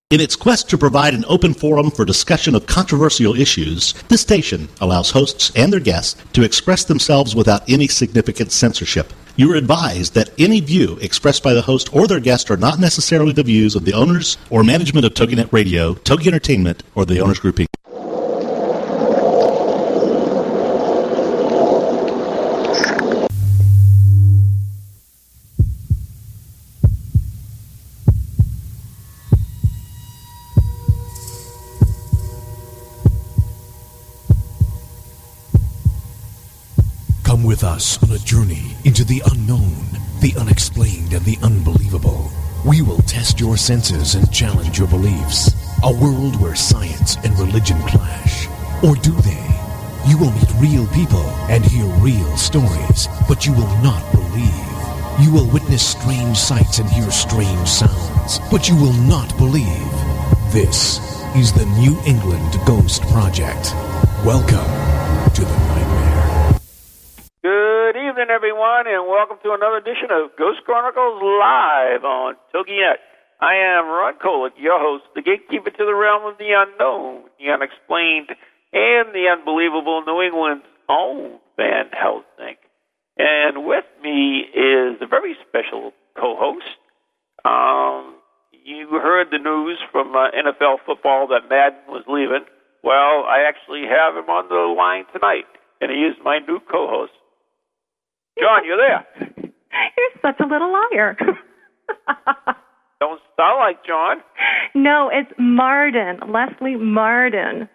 In its quest to provide an open forum for discussion of controversial issues, this station allows hosts and their guests to express themselves without any significant censorship. You are advised that any view expressed by the host or their guest are not necessarily the views of the owners or management of TogiNet Radio, Togi Entertainment, or the Owners Group Inc. Come with us on a journey into the unknown, the unexplained, and the unbelievable. We will test your senses and challenge your beliefs. A world where science and religion clash. Or do they? You will meet real people and hear real stories, but you will not believe. You will witness strange sights and hear strange sounds, but you will not believe. This is the New England Ghost Project. Welcome to the Nightmare. Good evening, everyone, and welcome to another edition of Ghost Chronicles Live on TogiNet. I am Ron Kolick, your host, the gatekeeper to the realm of the unknown, the unexplained, and the unbelievable, New England's own Van Helsing. And with me is a very special co-host. You heard the news from NFL football that Madden was leaving. Well, I actually have him on the line tonight, and he is my new co-host. John, you there? You're such a little liar. Don't sound like John. No, it's Marden. Leslie Marden.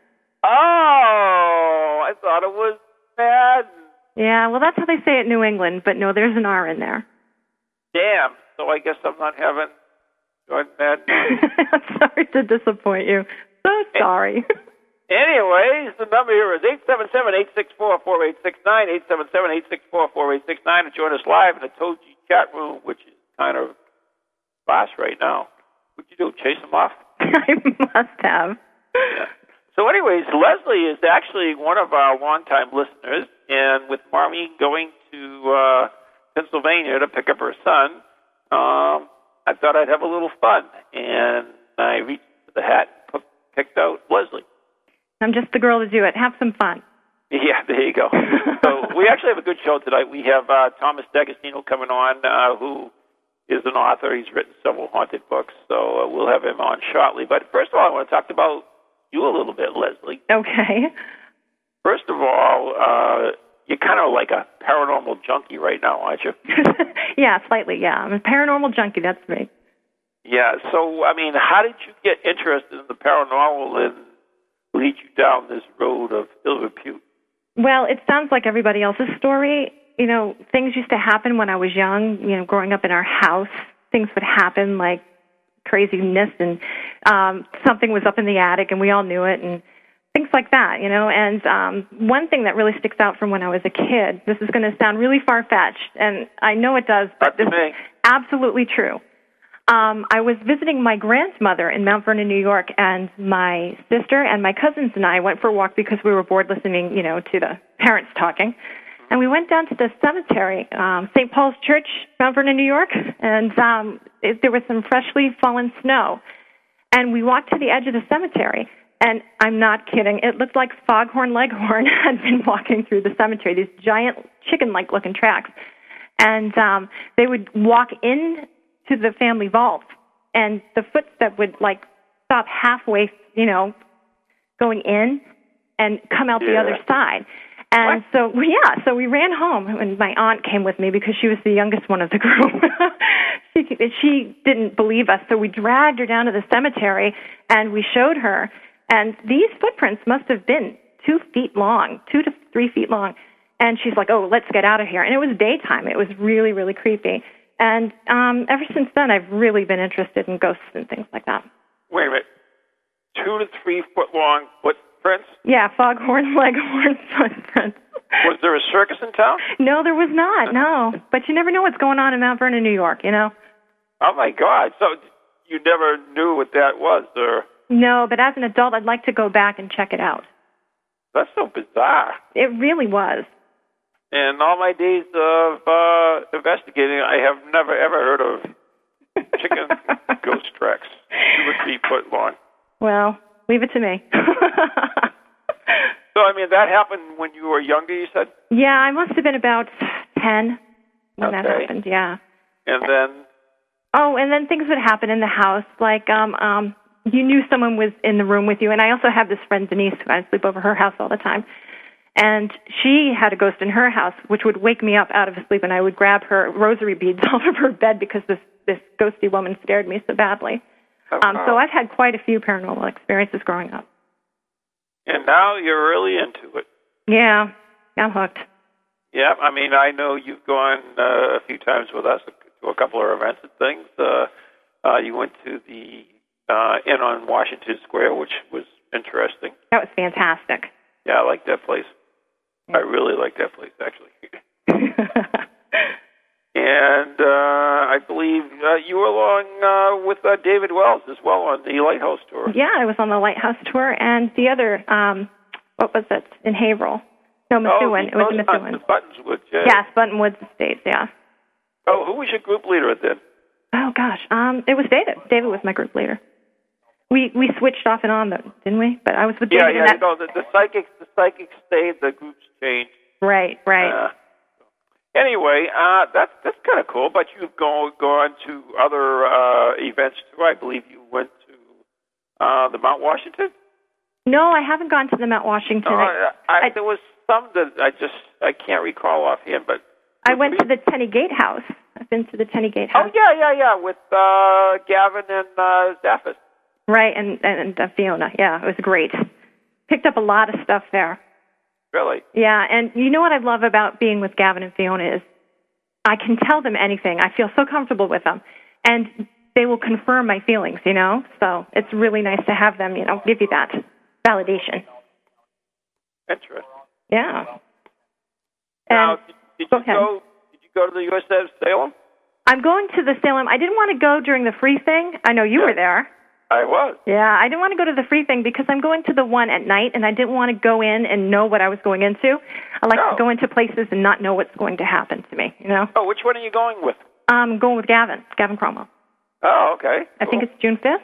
Oh, I thought it was Madden. Yeah, well, that's how they say it in New England, but no, there's an R in there. Damn, so I guess I'm not having Jordan Madden. I'm sorry to disappoint you. So sorry. Anyways, the number here is 877-864-4869, 877-864-4869, and join us live in the Togi chat room, which is kind of sparse right now. What'd you do, chase them off? I must have. Yeah. So anyways, Leslie is actually one of our longtime listeners, and with Mommy going to Pennsylvania to pick up her son, I thought I'd have a little fun, and I reached into the hat and picked out Leslie. I'm just the girl to do it. Have some fun. Yeah, there you go. So we actually have a good show tonight. We have Thomas D'Agostino coming on, who is an author. He's written several haunted books, so we'll have him on shortly. But first of all, I want to talk about you a little bit, Leslie. Okay. First of all, you're kind of like a paranormal junkie right now, aren't you? Yeah, slightly, yeah. I'm a paranormal junkie, that's me. Yeah, so, I mean, how did you get interested in the paranormal and lead you down this road of ill repute? Well, it sounds like everybody else's story. You know, things used to happen when I was young, you know, growing up in our house. Things would happen like craziness, and something was up in the attic, and we all knew it, and things like that, you know. And one thing that really sticks out from when I was a kid, this is going to sound really far-fetched, and I know it does, but this is absolutely true. I was visiting my grandmother in Mount Vernon, New York, and my sister and my cousins and I went for a walk because we were bored listening, you know, to the parents talking. And we went down to the cemetery, St. Paul's Church, Mount Vernon, New York, and there was some freshly fallen snow. And we walked to the edge of the cemetery, and I'm not kidding, it looked like Foghorn Leghorn had been walking through the cemetery, these giant chicken-like looking tracks. And they would walk in to the family vault, and the footstep would, like, stop halfway, you know, going in and come out the other side. And so we ran home, and my aunt came with me because she was the youngest one of the group. She didn't believe us, so we dragged her down to the cemetery, and we showed her. And these footprints must have been 2 feet long, 2 to 3 feet long. And she's like, oh, let's get out of here. And it was daytime. It was really, really creepy. And ever since then, I've really been interested in ghosts and things like that. Wait a minute. 2 to 3 foot long footprints? Yeah, Foghorn Leghorn footprints. Was there a circus in town? No, there was not, no. But you never know what's going on in Mount Vernon, New York, you know? Oh, my God. So you never knew what that was, or? No, but as an adult, I'd like to go back and check it out. That's so bizarre. It really was. In all my days of investigating, I have never, ever heard of Chicken ghost tracks, 2 or 3 foot long. Well, leave it to me. So, I mean, that happened when you were younger, you said? Yeah, I must have been about 10 when that Okay. happened, yeah. And then, Oh, and then things would happen in the house, like you knew someone was in the room with you. And I also have this friend, Denise, who I sleep over her house all the time. And she had a ghost in her house, which would wake me up out of sleep, and I would grab her rosary beads off of her bed because this ghosty woman scared me so badly. So I've had quite a few paranormal experiences growing up. and now you're really into it. Yeah, I'm hooked. Yeah, I mean, I know you've gone a few times with us to a couple of events and things. You went to the Inn on Washington Square, which was interesting. That was fantastic. Yeah, I like that place. I really like that place, actually. And I believe you were along with David Wells as well on the Lighthouse tour. Yeah, I was on the Lighthouse tour, and the other, what was it, in Haverhill? No, Methuen. It was in Methuen. Buttonswood, yeah. Yes, Buttonwoods Estates, yeah. Oh, who was your group leader then? Oh, gosh. It was David. David was my group leader. We switched off and on, though, didn't we? But I was with David. Yeah, the psychics stayed, the groups changed. Right. Anyway, that's kind of cool. But you've gone to other events too. I believe you went to the Mount Washington. No, I haven't gone to the Mount Washington. There was some that I can't recall offhand, but I went to the Tenny Gate House. I've been to the Tenny Gate House. Oh yeah, with Gavin and Zaffis. Right, and Fiona. Yeah, it was great. Picked up a lot of stuff there. Really? Yeah, and you know what I love about being with Gavin and Fiona is I can tell them anything. I feel so comfortable with them. And they will confirm my feelings, you know? So it's really nice to have them, give you that validation. Interesting. Yeah. Now, did go you go to the USS Salem? I'm going to the Salem. I didn't want to go during the free thing. I know you were there. I was. Yeah, I didn't want to go to the free thing because I'm going to the one at night, and I didn't want to go in and know what I was going into. I like to go into places and not know what's going to happen to me, Oh, which one are you going with? I'm going with Gavin Cromwell. Oh, okay. I think it's June 5th.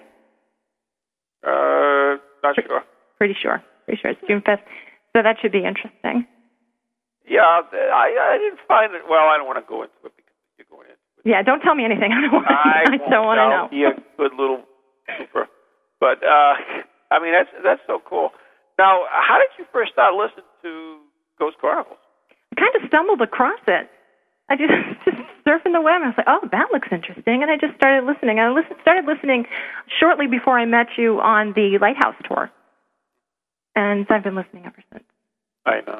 Not sure. Pretty sure it's June 5th. So that should be interesting. Yeah, I didn't find it. Well, I don't want to go into it because you're going into it. Yeah, don't tell me anything. I don't want to know. Be a good little super. But I mean, that's so cool. Now, how did you first start listening to Ghost Chronicles? I kind of stumbled across it. I just surfing the web, and I was like, oh, that looks interesting. And I just started listening. I started listening shortly before I met you on the Lighthouse tour. And I've been listening ever since. I know.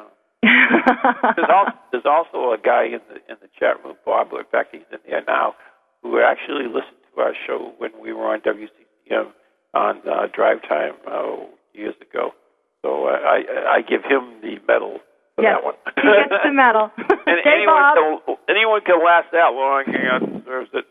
There's also a guy in the chat room, Bob, in fact, he's in there now, who actually listened to our show when we were on WCCM on Drive Time years ago. So I give him the medal for that one. He gets the medal. And anyone can last that long, deserves it.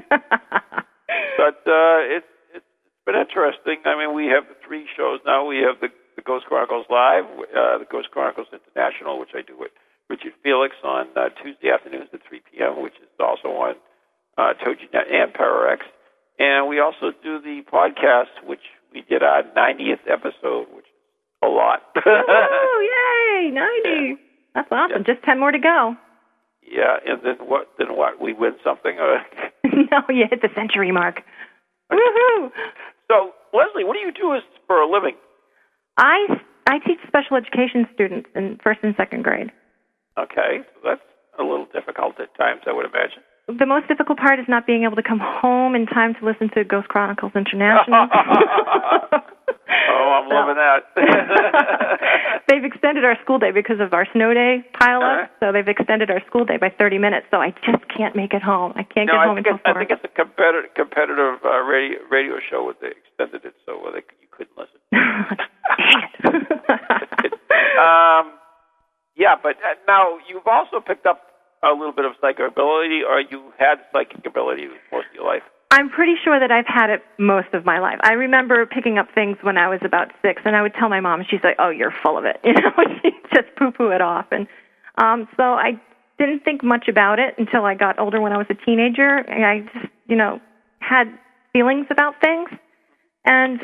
But it's been interesting. I mean, we have the 3 shows now. We have the Ghost Chronicles Live, the Ghost Chronicles International, which I do with Richard Felix on Tuesday afternoons at 3 p.m., which is also on TogiNet and PowerX. And we also do the podcast, which we did our 90th episode, which is a lot. Oh, yay, 90. Yeah. That's awesome. Yeah. Just 10 more to go. Yeah, and then what? We win something? No, you hit the century mark. Woohoo! So, Leslie, what do you do for a living? I teach special education students in 1st and 2nd grade. Okay, so that's a little difficult at times, I would imagine. The most difficult part is not being able to come home in time to listen to Ghost Chronicles International. Oh, I'm loving that. They've extended our school day because of our snow day pile-up, so they've extended our school day by 30 minutes, so I just can't make it home. I can't get home until 4. I think it's a competitive radio show where they extended it so you couldn't listen. Dang it. Yeah, but now you've also picked up a little bit of psychic ability, or you had psychic ability most of your life? I'm pretty sure that I've had it most of my life. I remember picking up things when I was about 6, and I would tell my mom, and she's like, oh, you're full of it. She'd just poo-poo it off. And so I didn't think much about it until I got older when I was a teenager. And I just, had feelings about things, and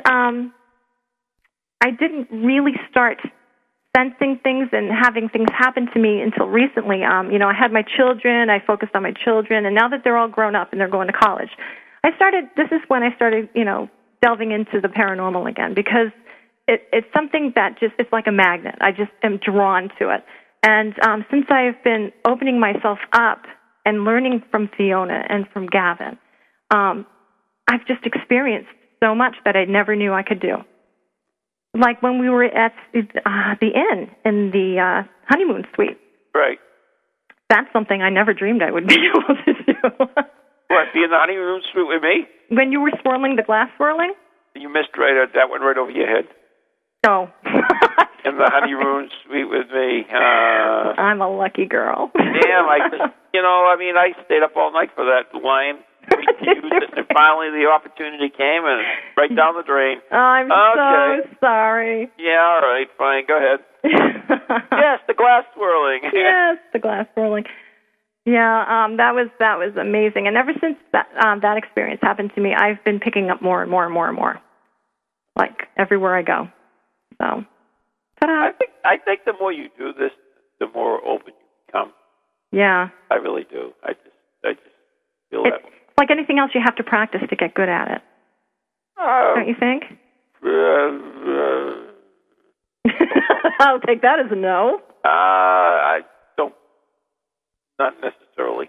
I didn't really start sensing things and having things happen to me until recently. I had my children, I focused on my children, and now that they're all grown up and they're going to college, this is when I started, delving into the paranormal again, because it's something that it's like a magnet. I just am drawn to it. And since I've been opening myself up and learning from Fiona and from Gavin, I've just experienced so much that I never knew I could do. Like when we were at the inn in the honeymoon suite. Right. That's something I never dreamed I would be able to do. What, be in the honeymoon suite with me? When you were swirling the glass swirling? You missed that one right over your head. Oh. In the honeymoon suite with me. I'm a lucky girl. Damn, I stayed up all night for that line. And finally the opportunity came and right down the drain. I'm so sorry. Yeah, all right, fine, go ahead. Yes, the glass swirling. Yes, the glass swirling. Yeah, that was amazing. And ever since that experience happened to me, I've been picking up more and more and more and more, like everywhere I go. So, ta-da. I think the more you do this, the more open you become. Yeah, I really do. I just feel that way. Like anything else, you have to practice to get good at it. Don't you think? I'll take that as a no. I don't. Not necessarily.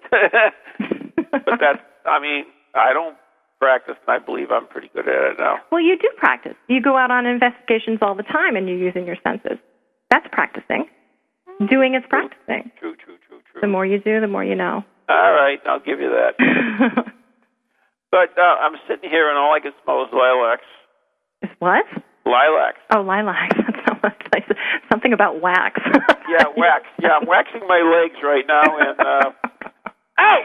But I don't practice, and I believe I'm pretty good at it now. Well, you do practice. You go out on investigations all the time, and you're using your senses. That's practicing. Doing is practicing. True. The more you do, the more you know. All right, I'll give you that. But I'm sitting here, and all I can smell is lilacs. Is what? Lilacs. Oh, lilacs. Something about wax. Yeah, wax. Yeah, I'm waxing my legs right now, and ow!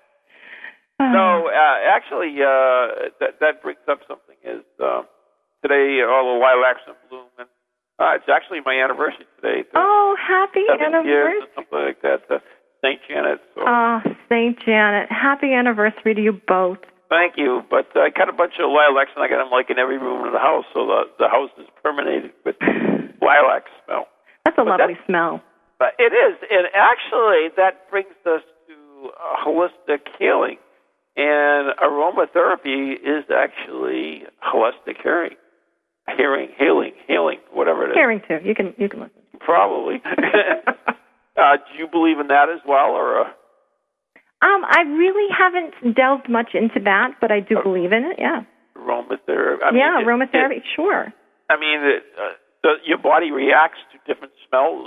No, actually, that brings up something. Is today all the lilacs in bloom, and it's actually my anniversary today. Oh, happy 7 anniversary! Years or something like that. St. Janet. So. Oh, St. Janet. Happy anniversary to you both. Thank you. But I got a bunch of lilacs, and I got them in every room in the house, so the house is permeated with lilac smell. That's a lovely smell. But it is. And actually, that brings us to holistic healing. And aromatherapy is actually holistic healing, whatever it is. Hearing, too. You can listen. Probably. Do you believe in that as well, or? I really haven't delved much into that, but I do believe in it. Yeah. Aromatherapy. Aromatherapy. Sure. Your body reacts to different smells,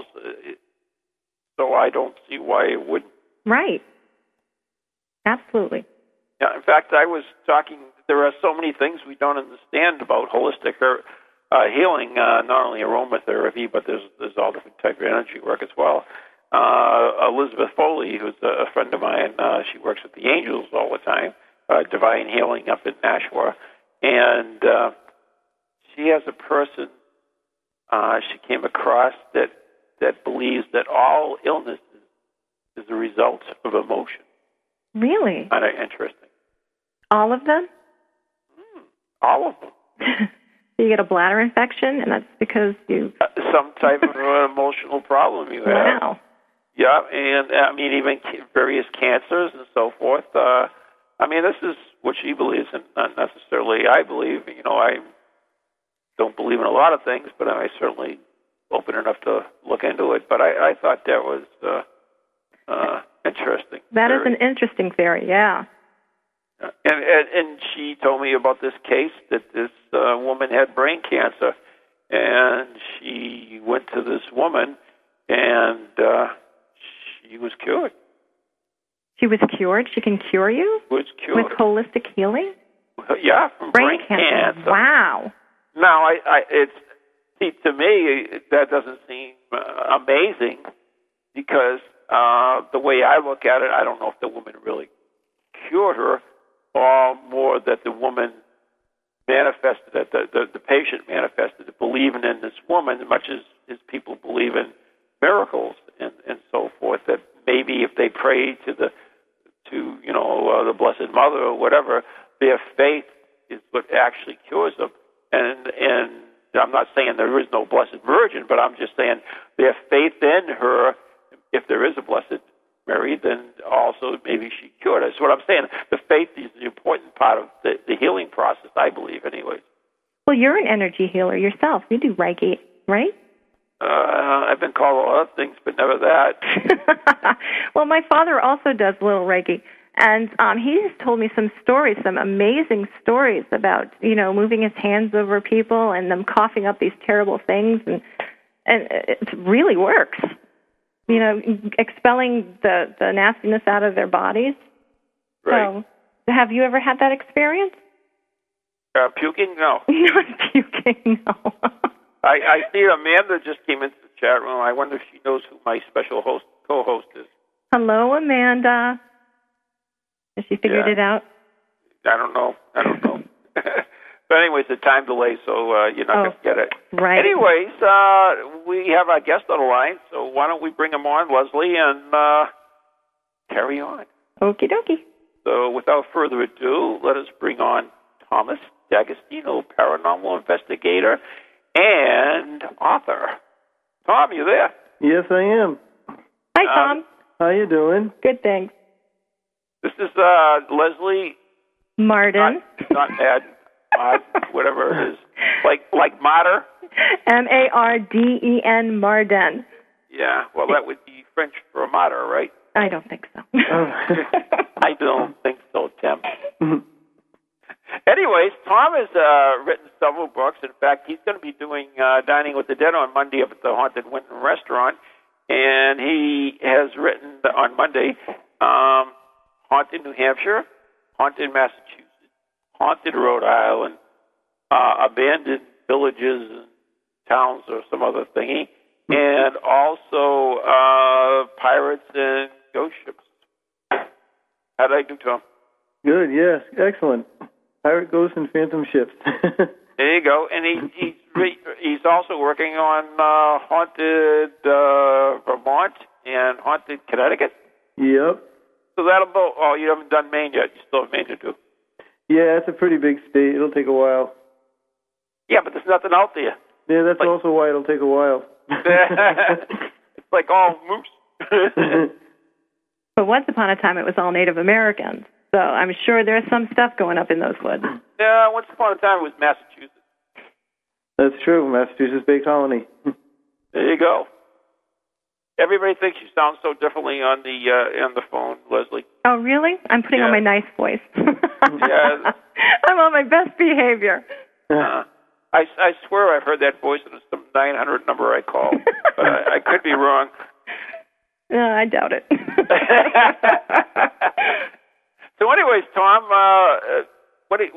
so I don't see why it wouldn't. Right. Absolutely. Yeah. In fact, I was talking. There are so many things we don't understand about holistic healing. Not only aromatherapy, but there's all different types of energy work as well. Elizabeth Foley, who's a friend of mine, she works with the Angels all the time, Divine Healing up in Nashua, and she has a person she came across that believes that all illness is a result of emotion. Really? Kind of interesting. All of them? All of them. You get a bladder infection, and that's because you... some type of emotional problem you have. Wow. Yeah, and even various cancers and so forth. This is what she believes in, not necessarily I believe. I don't believe in a lot of things, but I certainly open enough to look into it. But I thought that was interesting. That is an interesting theory, yeah. And she told me about this case that this woman had brain cancer, and she went to this woman, and she was cured. She was cured? She can cure you? Was cured. With holistic healing? Yeah, from brain cancer. Wow. Now, to me, that doesn't seem amazing, because the way I look at it, I don't know if the woman really cured her, or more that the woman manifested it, the patient manifested it, believing in this woman, as much as people believe in miracles and so forth, that maybe if they pray to the Blessed Mother or whatever, their faith is what actually cures them. And I'm not saying there is no Blessed Virgin, but I'm just saying their faith in her, if there is a Blessed Mary, then also maybe she cured us. That's what I'm saying. The faith is the important part of the healing process, I believe, anyways. Well, you're an energy healer yourself. You do Reiki, right? I've been called a lot of things, but never that. Well, my father also does a little Reiki, and he has told me some stories, some amazing stories about, moving his hands over people and them coughing up these terrible things, and it really works. Expelling the nastiness out of their bodies. Right. So, have you ever had that experience? Puking? No. Not puking, no. I see Amanda just came into the chat room. I wonder if she knows who my special co-host is. Hello, Amanda. Has she figured it out? I don't know. But anyways, the time delay, so you're not going to get it. Right. Anyways, we have our guest on the line, so why don't we bring him on, Leslie, and carry on. Okie dokie. So without further ado, let us bring on Thomas D'Agostino, paranormal investigator and author. Tom, you there? Yes, I am. Hi, Tom. How you doing? Good, thanks. This is Leslie Marden. Not whatever it is. Like Marder? Marden, Marden. Yeah, well, that would be French for a martyr, right? I don't think so. I don't think so, Tim. Anyways, Tom has written several books. In fact, he's going to be doing Dining with the Dead on Monday up at the Haunted Winton Restaurant. And he has written on Monday Haunted New Hampshire, Haunted Massachusetts, Haunted Rhode Island, Abandoned Villages and Towns or some other thingy, and also Pirates and Ghost Ships. How did I do, Tom? Good, yes, excellent. Pirate, Ghost, and Phantom Ships. There you go. And he's also working on Haunted Vermont and Haunted Connecticut. Yep. So that'll go. Oh, you haven't done Maine yet. You still have Maine to do. Yeah, it's a pretty big state. It'll take a while. Yeah, but there's nothing out there. Yeah, that's also why it'll take a while. It's like all moose. But once upon a time, it was all Native Americans. So I'm sure there's some stuff going up in those woods. Yeah, once upon a time, it was Massachusetts. That's true. Massachusetts Bay Colony. There you go. Everybody thinks you sound so differently on the phone, Leslie. Oh, really? I'm putting on my nice voice. Yeah. I'm on my best behavior. I swear I've heard that voice in some 900 number I call, but I could be wrong. No, I doubt it. So, anyways, Tom, Les,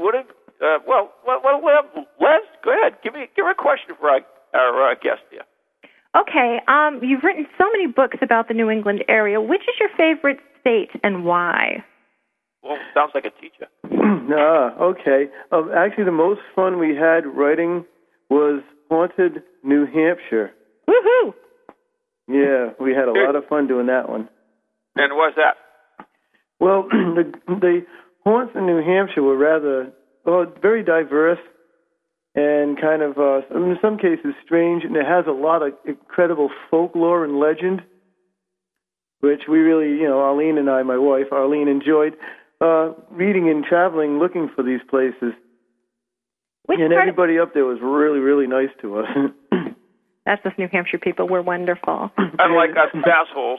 go ahead. Give her a question for our guest here. Okay, you've written so many books about the New England area. Which is your favorite state and why? Well, sounds like a teacher. Okay. Actually, the most fun we had writing was Haunted New Hampshire. Woohoo! Yeah, we had a lot of fun doing that one. And what's that? Well, the haunts in New Hampshire were very diverse and kind of, in some cases, strange, and it has a lot of incredible folklore and legend, which we really, Arlene and I, my wife, Arlene, enjoyed reading and traveling, looking for these places. And everybody up there was really, really nice to us. That's us New Hampshire people. We're wonderful. Unlike us assholes.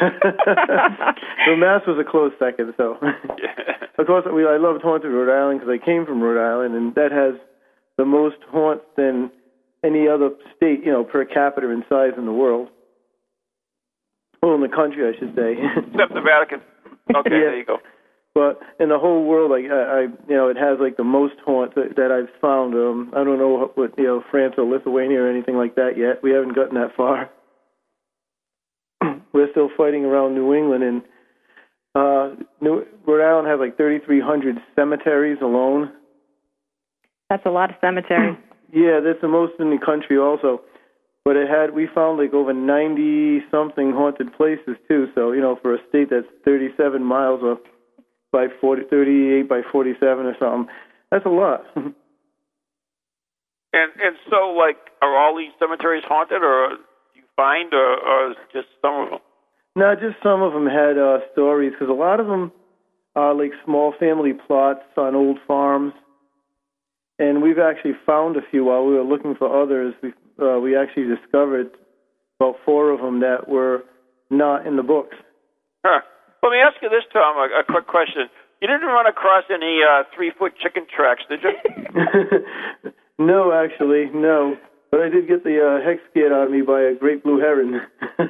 So Mass was a close second. So, of course, I loved Haunted Rhode Island because I came from Rhode Island, and that has the most haunts than any other state, per capita in size in the world. Well, in the country, I should say. Except the Vatican. Okay, There you go. But in the whole world, it has like the most haunts that I've found. I don't know what France or Lithuania or anything like that yet. We haven't gotten that far. We're still fighting around New England, and Rhode Island has like 3,300 cemeteries alone. That's a lot of cemeteries. Yeah, that's the most in the country also. But we found like over 90-something haunted places too. So, for a state that's 37 miles or by 38 by 47 or something. That's a lot. And so, like, are all these cemeteries haunted, or do you find, or just some of them? No, just some of them had stories, because a lot of them are like small family plots on old farms. And we've actually found a few while we were looking for others. We actually discovered about 4 of them that were not in the books. Huh. Let me ask you this, Tom, a quick question. You didn't run across any 3-foot chicken tracks, did you? No, actually, no. But I did get the heck scared out of me by a great blue heron.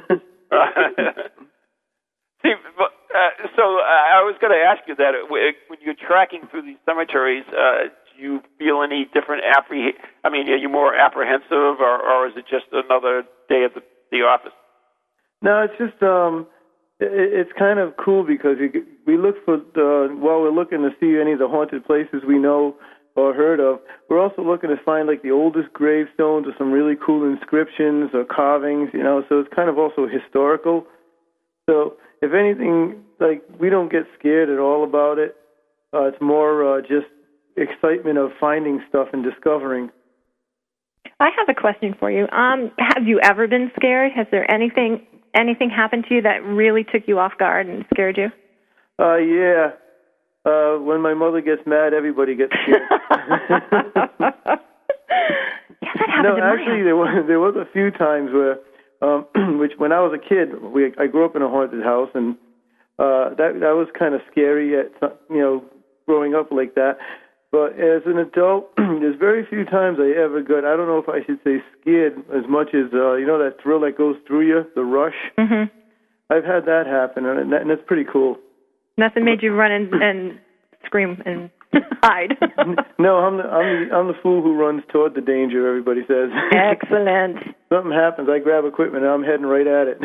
See, so I was going to ask you that. When you're tracking through these cemeteries, do you feel any different are you more apprehensive, or is it just another day at the office? No, it's just it's kind of cool because we look for while we're looking to see any of the haunted places we know or heard of, we're also looking to find like the oldest gravestones or some really cool inscriptions or carvings, so it's kind of also historical. So if anything, like, we don't get scared at all about it. It's more just excitement of finding stuff and discovering. I have a question for you. Have you ever been scared? Has there anything happened to you that really took you off guard and scared you? Yeah. When my mother gets mad, everybody gets scared. Yeah, that happened. No, actually, there was a few times where, which when I was a kid, I grew up in a haunted house, and that was kind of scary growing up like that. But as an adult, there's very few times I ever got, I don't know if I should say scared as much as, that thrill that goes through you, the rush. Mm-hmm. I've had that happen, and that's pretty cool. Nothing made you run and scream and hide. No, I'm the fool who runs toward the danger, everybody says. Excellent. Something happens, I grab equipment, and I'm heading right at it.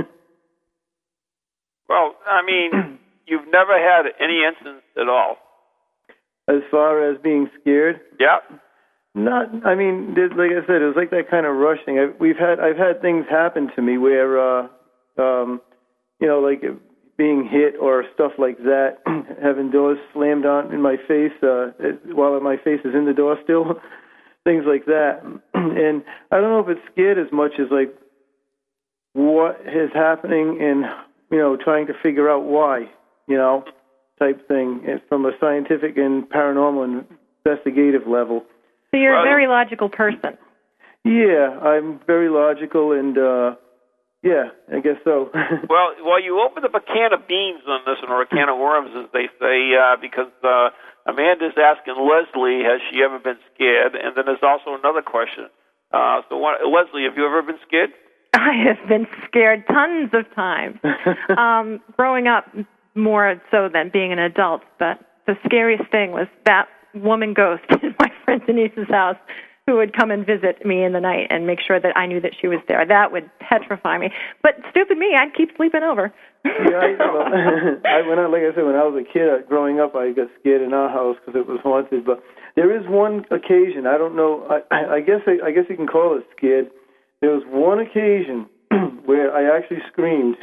Well, you've never had any incidents at all. As far as being scared? Yeah. Like I said, it was like that kind of rush thing. I've had things happen to me where, like being hit or stuff like that, having doors slammed on in my face while my face is in the door still, things like that. And I don't know if it's scared as much as like what is happening and, trying to figure out why, type thing from a scientific and paranormal and investigative level. So you're a very logical person. Yeah, I'm very logical, and yeah, I guess so. Well, you opened up a can of beans on this one, or a can of worms, as they say, because Amanda's asking Leslie, has she ever been scared? And then there's also another question. Leslie, have you ever been scared? I have been scared tons of times. Growing up, more so than being an adult, but the scariest thing was that woman ghost in my friend Denise's house who would come and visit me in the night and make sure that I knew that she was there. That would petrify me. But stupid me, I'd keep sleeping over. Yeah, when I was a kid growing up, I got scared in our house because it was haunted. But there is one occasion, I don't know, I guess you can call it scared. There was one occasion where I actually screamed.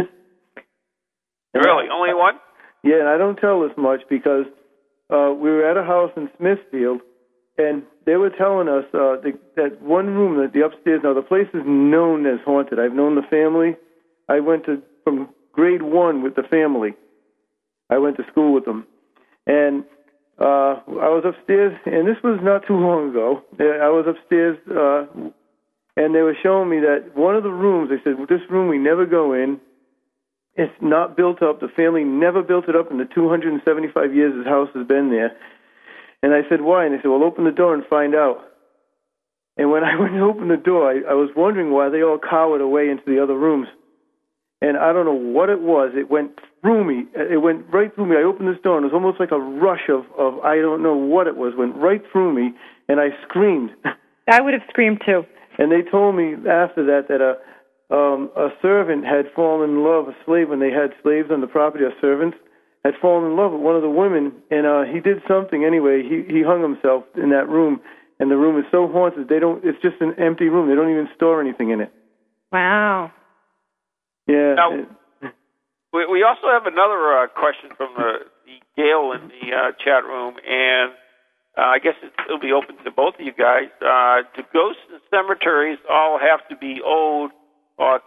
Really? Only one? Yeah, and I don't tell this much because we were at a house in Smithfield, and they were telling us that one room, the upstairs, now the place is known as haunted. I've known the family. I went from grade 1 with the family. I went to school with them. And I was upstairs, and this was not too long ago. I was upstairs, and they were showing me that one of the rooms, they said, well, this room we never go in. It's not built up. The family never built it up in the 275 years this house has been there. And I said, why? And they said, well, open the door and find out. And when I went to open the door, I was wondering why they all cowered away into the other rooms. And I don't know what it was. It went through me. It went right through me. I opened this door, and it was almost like a rush of I don't know what it was. Went right through me, and I screamed. I would have screamed, too. And they told me after that a servant had fallen in love, a slave, when they had slaves on the property, a servant had fallen in love with one of the women, and he did something anyway. He hung himself in that room, and the room is so haunted. It's just an empty room. They don't even store anything in it. Wow. Yeah. Now, we also have another question from the Gail in the chat room, and I guess it'll be open to both of you guys. Do ghosts and cemeteries all have to be old, or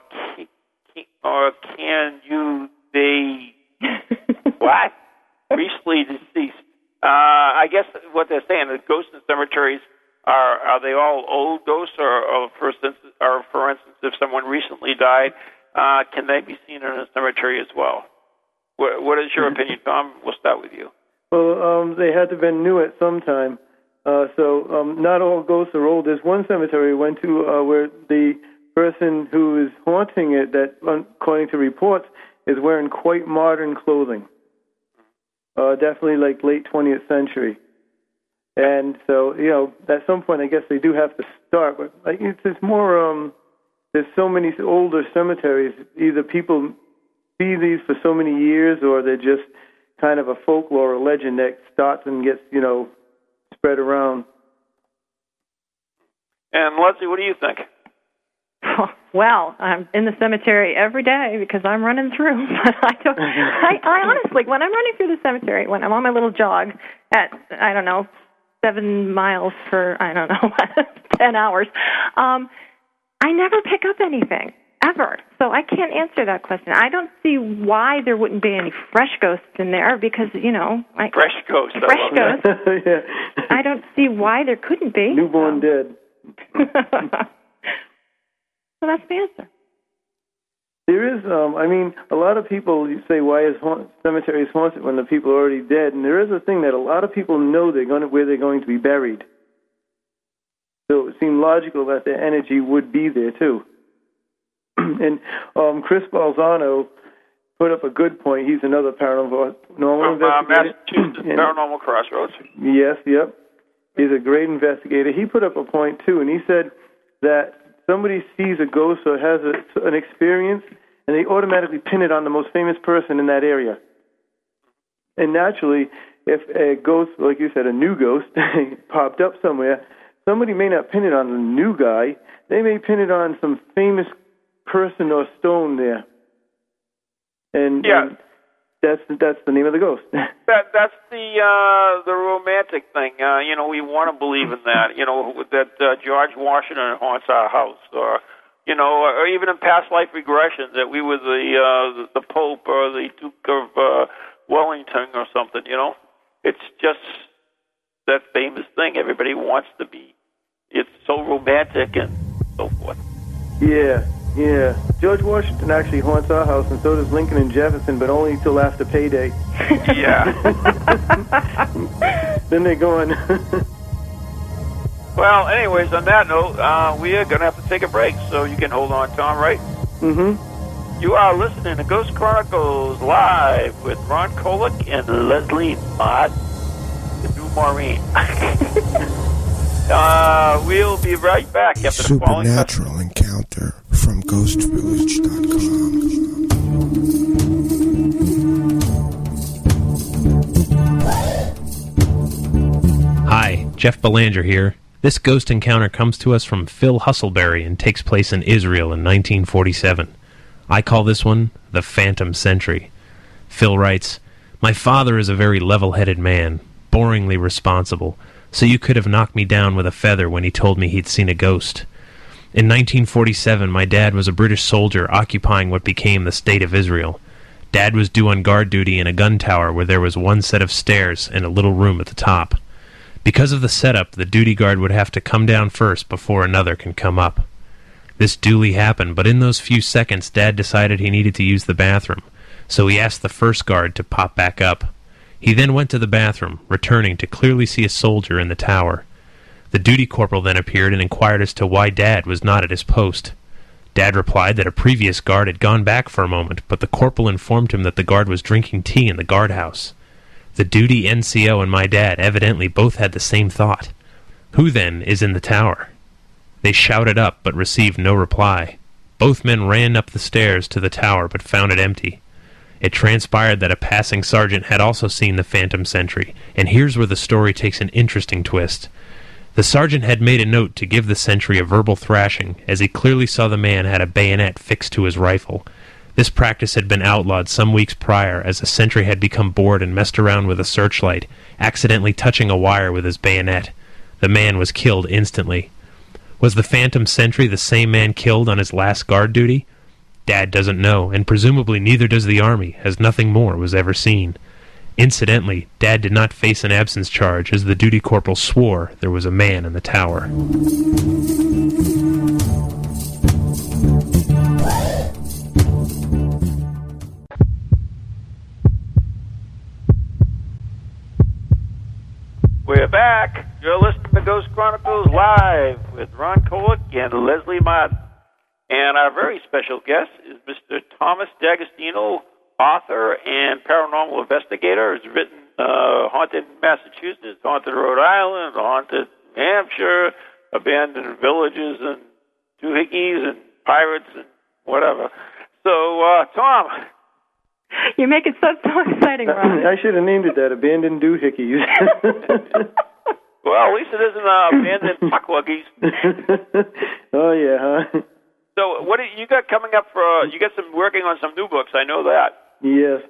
can you be what? Recently deceased? I guess what they're saying, the ghosts and cemeteries, are they all old ghosts, or for instance, if someone recently died, can they be seen in a cemetery as well? What is your opinion, Tom? We'll start with you. Well, they had to have been new at some time. So not all ghosts are old. There's one cemetery we went to where the person who is haunting it, that according to reports, is wearing quite modern clothing. Definitely like late 20th century. And so, at some point, I guess they do have to start. But it's more, there's so many older cemeteries. Either people see these for so many years, or they're just kind of a folklore or legend that starts and gets, spread around. And Leslie, what do you think? Well, I'm in the cemetery every day because I'm running through. But I honestly, when I'm running through the cemetery, when I'm on my little jog at, 7 miles for, 10 hours, I never pick up anything, ever. So I can't answer that question. I don't see why there wouldn't be any fresh ghosts in there because, fresh ghosts. Fresh ghosts. Yeah. I don't see why there couldn't be. Newborn dead. So that's the answer. There is, a lot of people say, why is cemeteries haunted when the people are already dead? And there is a thing that a lot of people know where they're going to be buried. So it seemed logical that their energy would be there, too. And Chris Balzano put up a good point. He's another paranormal investigator. Massachusetts Paranormal Crossroads. Yes, yep. He's a great investigator. He put up a point, too, and he said that somebody sees a ghost or has an experience, and they automatically pin it on the most famous person in that area. And naturally, if a ghost, like you said, a new ghost, popped up somewhere, somebody may not pin it on the new guy. They may pin it on some famous person or stone there. And that's the name of the ghost. That's the romantic thing. We want to believe in that. That George Washington haunts our house, or even in past life regressions that we were the Pope or the Duke of Wellington or something. It's just that famous thing everybody wants to be. It's so romantic and so forth. Yeah. George Washington actually haunts our house, and so does Lincoln and Jefferson, but only till after payday. Yeah. Then they're gone. Well, anyways, on that note, we are going to have to take a break, so you can hold on, Tom, right? Mm-hmm. You are listening to Ghost Chronicles Live with Ron Kolick and Leslie Mott, the new Maureen. We'll be right back after the following Supernatural encounter from ghostvillage.com. Hi, Jeff Belanger here. This ghost encounter comes to us from Phil Husselberry and takes place in Israel in 1947. I call this one the Phantom Sentry. Phil writes, "My father is a very level-headed man, boringly responsible, so you could have knocked me down with a feather when he told me he'd seen a ghost. In 1947, my dad was a British soldier occupying what became the State of Israel. Dad was due on guard duty in a gun tower where there was one set of stairs and a little room at the top. Because of the setup, the duty guard would have to come down first before another can come up. This duly happened, but in those few seconds, Dad decided he needed to use the bathroom, so he asked the first guard to pop back up. He then went to the bathroom, returning to clearly see a soldier in the tower. The duty corporal then appeared and inquired as to why Dad was not at his post. Dad replied that a previous guard had gone back for a moment, but the corporal informed him that the guard was drinking tea in the guardhouse. The duty NCO and my dad evidently both had the same thought. Who, then, is in the tower? They shouted up, but received no reply. Both men ran up the stairs to the tower, but found it empty. It transpired that a passing sergeant had also seen the Phantom Sentry, and here's where the story takes an interesting twist. The sergeant had made a note to give the sentry a verbal thrashing, as he clearly saw the man had a bayonet fixed to his rifle. This practice had been outlawed some weeks prior, as a sentry had become bored and messed around with a searchlight, accidentally touching a wire with his bayonet. The man was killed instantly. Was the phantom sentry the same man killed on his last guard duty? Dad doesn't know, and presumably neither does the Army, as nothing more was ever seen. Incidentally, Dad did not face an absence charge, as the duty corporal swore there was a man in the tower. We're back. You're listening to Ghost Chronicles Live with Ron Kolick and Leslie Martin. And our very special guest is Mr. Thomas D'Agostino, author and paranormal investigator. Has written Haunted Massachusetts, Haunted Rhode Island, Haunted New Hampshire, Abandoned Villages, and Doohickeys, and Pirates, and whatever. So, Tom. You make it so exciting, Ron. I should have named it that, Abandoned Doohickeys. Well, at least it isn't Abandoned Puckwuggies. Oh, yeah, huh? So, what do you got coming up for? You got some working on some new books. I know that. Yes.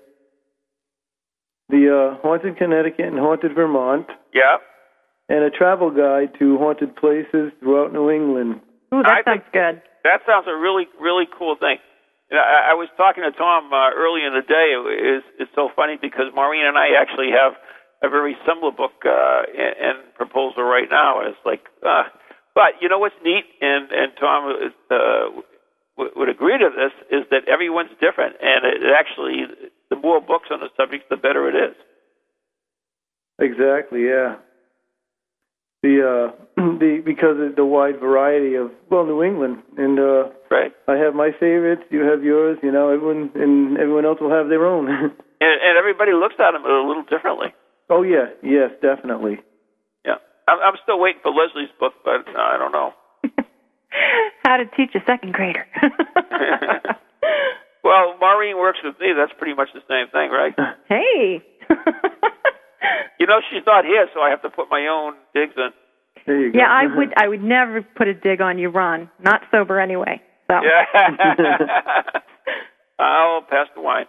The Haunted Connecticut and Haunted Vermont. Yeah. And a travel guide to haunted places throughout New England. Ooh, that sounds good. That sounds a really, really cool thing. You know, I was talking to Tom early in the day. It's so funny because Maureen and I actually have a very similar book and proposal right now. It's like, but you know what's neat, and Tom would agree to this, is that everyone's different, and it actually, the more books on the subject, the better it is. Exactly, yeah. Because of the wide variety of New England, and right. I have my favorites, you have yours, you know, everyone else will have their own. and everybody looks at them a little differently. Oh yeah, yes, definitely. Yeah, I'm still waiting for Leslie's book, but I don't know. How to teach a second grader. Well, Maureen works with me. That's pretty much the same thing, right? Hey. You know, she's not here, so I have to put my own digs in. There you go. Yeah, I would never put a dig on you, Ron. Not sober anyway. So. Yeah. I'll pass the wine.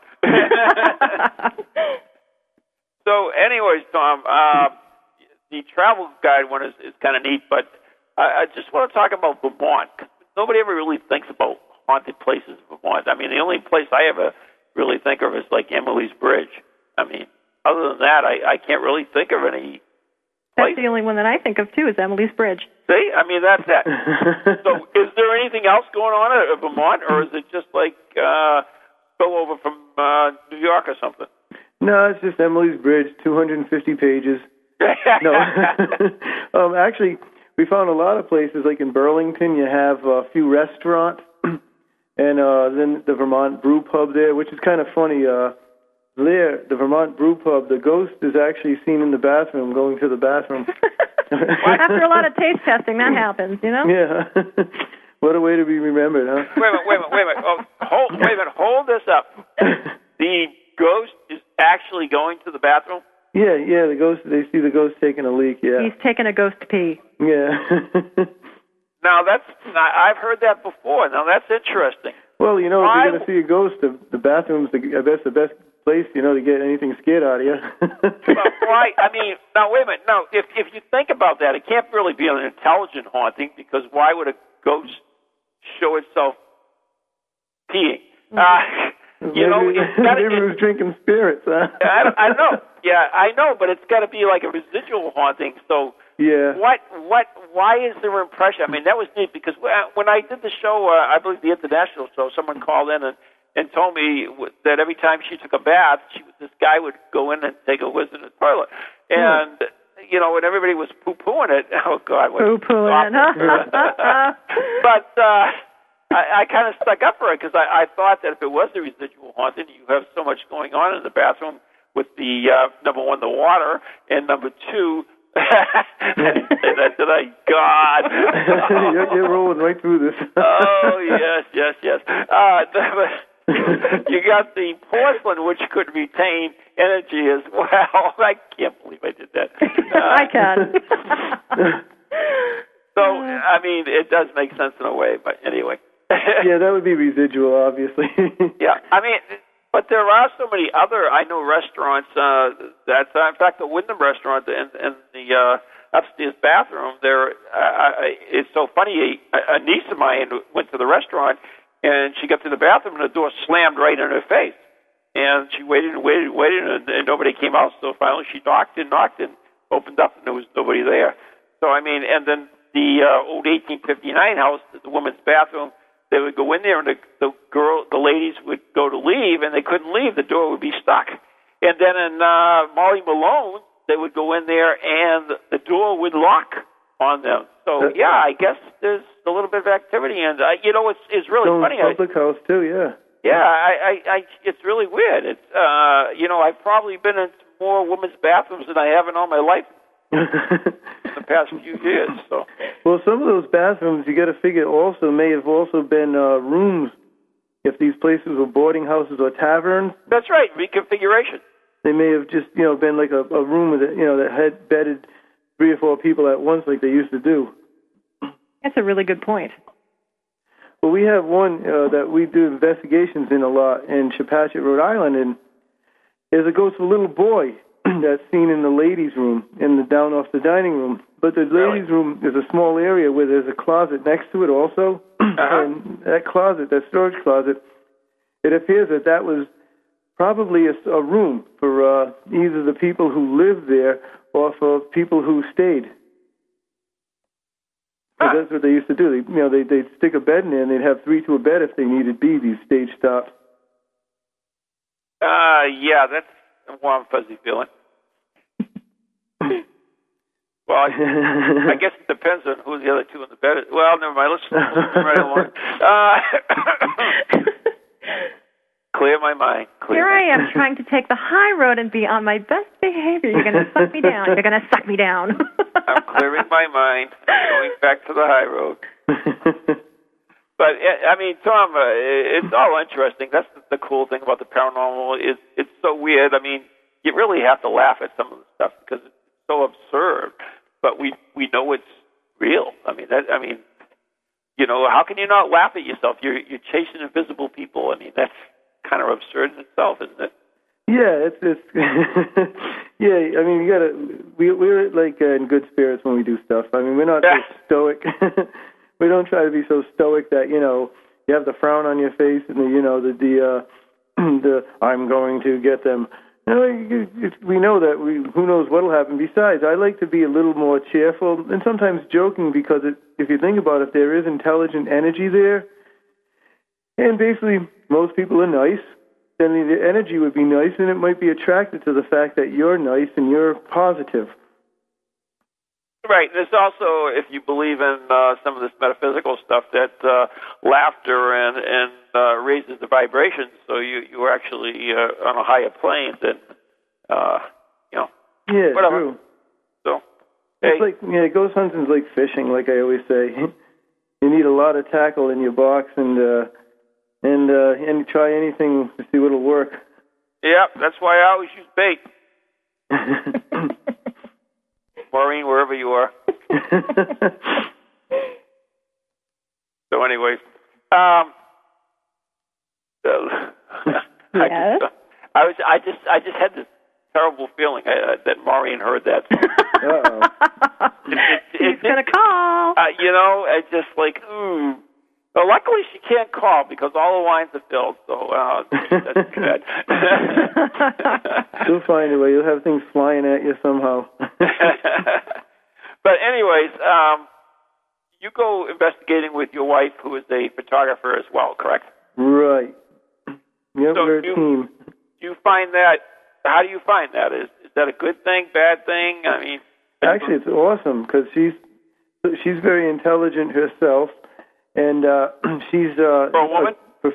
So, anyways, Tom, the travel guide one is kind of neat, but I just want to talk about Vermont. Nobody ever really thinks about haunted places in Vermont. I mean, the only place I ever really think of is like Emily's Bridge. I mean, other than that, I can't really think of any place. That's the only one that I think of, too, is Emily's Bridge. See? I mean, that's that. So is there anything else going on at Vermont, or is it just like spill over from New York or something? No, it's just Emily's Bridge, 250 pages. No. Actually, we found a lot of places, like in Burlington, you have a few restaurants, and then the Vermont Brew Pub there, which is kind of funny. There, the Vermont Brew Pub, the ghost is actually seen in the bathroom, going to the bathroom. After a lot of taste testing, that happens, you know? Yeah. What a way to be remembered, huh? Wait a minute. Oh, hold this up. The ghost is actually going to the bathroom? Yeah, the ghost, they see the ghost taking a leak, yeah. He's taking a ghost pee. Yeah. Now, I've heard that before. Now, that's interesting. Well, you know, if you're going to see a ghost, the bathroom's the best place, you know, to get anything scared out of you. Right. I mean, now, wait a minute. No, if you think about that, it can't really be an intelligent haunting, because why would a ghost show itself peeing? You know, maybe it was drinking spirits, huh? I know. Yeah, I know, but it's got to be like a residual haunting. So, yeah. Why is there impression? I mean, that was neat, because when I did the show, I believe the international show, someone called in and told me that every time she took a bath, this guy would go in and take a whiz in the toilet, and you know, when everybody was poo-pooing it, oh God, poo-pooing it. But I kind of stuck up for it, because I thought that if it was the residual haunting, you have so much going on in the bathroom with the number one, the water, and number two. I didn't say that, did I? God. You're rolling right through this. Oh, yes. You got the porcelain, which could retain energy as well. I can't believe I did that. I can. So, I mean, it does make sense in a way, but anyway. Yeah, that would be residual, obviously. Yeah, I mean, but there are so many other, I know, restaurants that, in fact, the Wyndham restaurant and the upstairs bathroom, it's so funny, a niece of mine went to the restaurant, and she got to the bathroom, and the door slammed right in her face. And she waited and waited and waited, and nobody came out, so finally she knocked and opened up, and there was nobody there. So, I mean, and then the old 1859 house, the woman's bathroom, they would go in there, and the ladies would go to leave, and they couldn't leave. The door would be stuck. And then in Molly Malone, they would go in there, and the door would lock on them. So, yeah, I guess there's a little bit of activity. And, it's really funny. Public house, too, yeah. Yeah, it's really weird. It's, I've probably been in more women's bathrooms than I have in all my life in the past few years. So. Well, some of those bathrooms, you got to figure, also may have also been rooms. If these places were boarding houses or taverns. That's right, reconfiguration. They may have just, been like a room that, that had bedded 3 or 4 people at once, like they used to do. That's a really good point. Well, we have one that we do investigations in a lot in Chepachet, Rhode Island, and there's a ghost of a little boy that's seen in the ladies' room, down off the dining room. But the ladies' room is a small area where there's a closet next to it also. And that closet, that storage closet, it appears that was probably a room for either the people who lived there or for people who stayed. That's what they used to do. They'd stick a bed in there, and they'd have 3 to a bed if they needed be, these stage stops. Yeah, that's a warm, fuzzy feeling. Well, I guess it depends on who the other 2 in the bed is. Well, never mind. Let's move right along. Clear my mind. Here I am trying to take the high road and be on my best behavior. You're going to suck me down. You're going to suck me down. I'm clearing my mind. I'm going back to the high road. But, I mean, Tom, it's all interesting. That's the cool thing about the paranormal. It's so weird. I mean, you really have to laugh at some of the stuff because it's so absurd. But we know it's real. I mean, how can you not laugh at yourself? You're chasing invisible people. I mean, that's kind of absurd in itself, isn't it? Yeah, it's yeah. I mean, we're like in good spirits when we do stuff. I mean, we're not so stoic. We don't try to be so stoic that you have the frown on your face and the I'm going to get them. We know that who knows what'll happen. Besides, I like to be a little more cheerful and sometimes joking because if you think about it, there is intelligent energy there, and basically most people are nice. Then the energy would be nice, and it might be attracted to the fact that you're nice and you're positive. Right. There's also, if you believe in some of this metaphysical stuff, that laughter and raises the vibrations, so you're actually on a higher plane than, Yeah, whatever. True. So, it's like ghost hunting's like fishing, like I always say. You need a lot of tackle in your box, and try anything to see what'll work. Yeah, that's why I always use bait. Maureen, wherever you are. So, anyways, yes. I just had this terrible feeling that Maureen heard that. He's gonna call. It's just like, ooh. Well, luckily she can't call because all the lines are filled, so that's good. You'll find a way. You'll have things flying at you somehow. But anyways, you go investigating with your wife, who is a photographer as well, correct? Right. Yep, so we're a team. Do you find that? How do you find that? Is that a good thing, bad thing? I mean, actually, it's awesome because she's very intelligent herself. And she's for a woman.